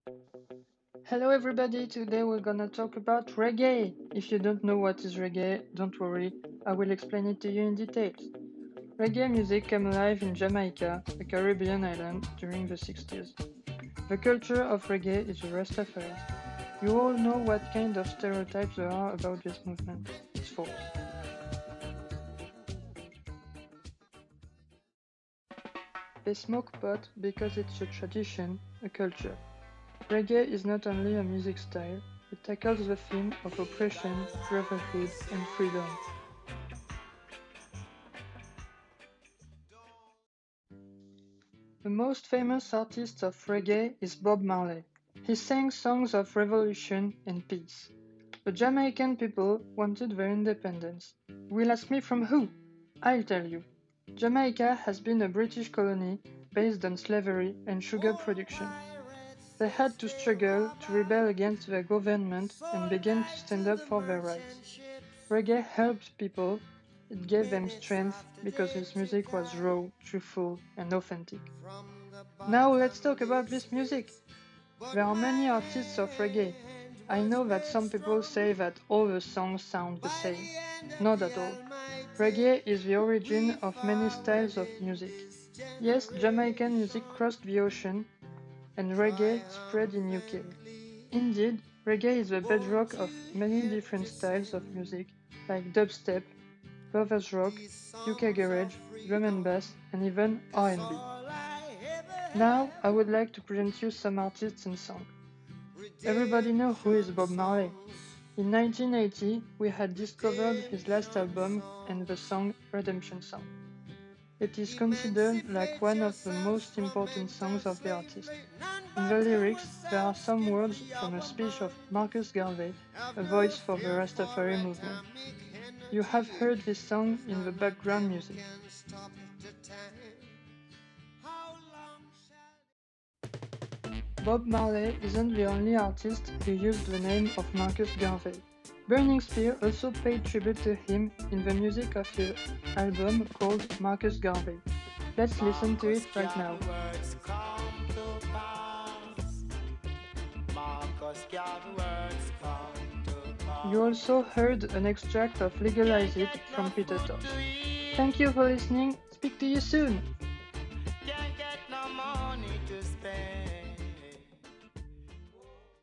Hello everybody, today we're gonna talk about reggae. If you don't know what is reggae, don't worry, I will explain it to you in details. Reggae music came alive in Jamaica, a Caribbean island, during the 60s. The culture of reggae is the Rastafari. You all know what kind of stereotypes there are about this movement. It's false. They smoke pot because it's a tradition, a culture. Reggae is not only a music style, it tackles the theme of oppression, brotherhood, and freedom. The most famous artist of reggae is Bob Marley. He sang songs of revolution and peace. The Jamaican people wanted their independence. You will ask me from who? I'll tell you. Jamaica has been a British colony based on slavery and sugar production. They had to struggle to rebel against their government and began to stand up for their rights. Reggae helped people, it gave them strength because its music was raw, truthful, and authentic. Now let's talk about this music. There are many artists of reggae. I know that some people say that all the songs sound the same. Not at all. Reggae is the origin of many styles of music. Yes, Jamaican music crossed the ocean and reggae spread in UK. Indeed, reggae is the bedrock of many different styles of music like dubstep, brothers rock, UK garage, drum and bass, and even R&B. Now, I would like to present you some artists and songs. Everybody know who is Bob Marley. In 1980, we had discovered his last album and the song Redemption Song. It is considered like one of the most important songs of the artist. In the lyrics, there are some words from a speech of Marcus Garvey, a voice for the Rastafari movement. You have heard this song in the background music. Bob Marley isn't the only artist who used the name of Marcus Garvey. Burning Spear also paid tribute to him in the music of his album called Marcus Garvey. Let's listen to it right now. You also heard an extract of Legalize It from Peter Tosh. Thank you for listening. Speak to you soon.